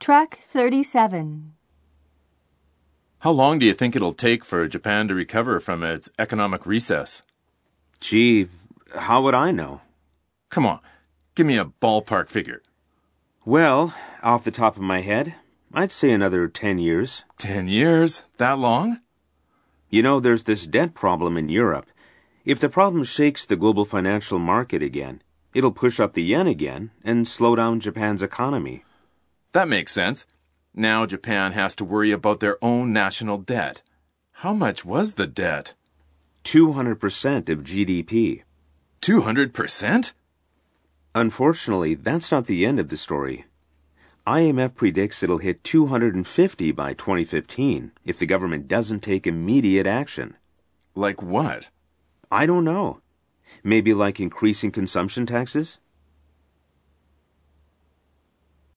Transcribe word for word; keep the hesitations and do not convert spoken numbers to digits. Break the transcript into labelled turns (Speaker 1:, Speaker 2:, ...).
Speaker 1: Track thirty-seven.
Speaker 2: How long do you think it'll take for Japan to recover from its economic recess?
Speaker 3: Gee, how would I know?
Speaker 2: Come on, give me a ballpark figure.
Speaker 3: Well, off the top of my head, I'd say another ten years.
Speaker 2: Ten years? That long?
Speaker 3: You know, there's this debt problem in Europe. If the problem shakes the global financial market again, it'll push up the yen again and slow down Japan's economy.
Speaker 2: That makes sense. Now Japan has to worry about their own national debt. How much was the debt?
Speaker 3: two hundred percent of G D P.
Speaker 2: two hundred percent?
Speaker 3: Unfortunately, that's not the end of the story. I M F predicts it'll hit two hundred fifty by twenty fifteen if the government doesn't take immediate action.
Speaker 2: Like what?
Speaker 3: I don't know. Maybe like increasing consumption taxes?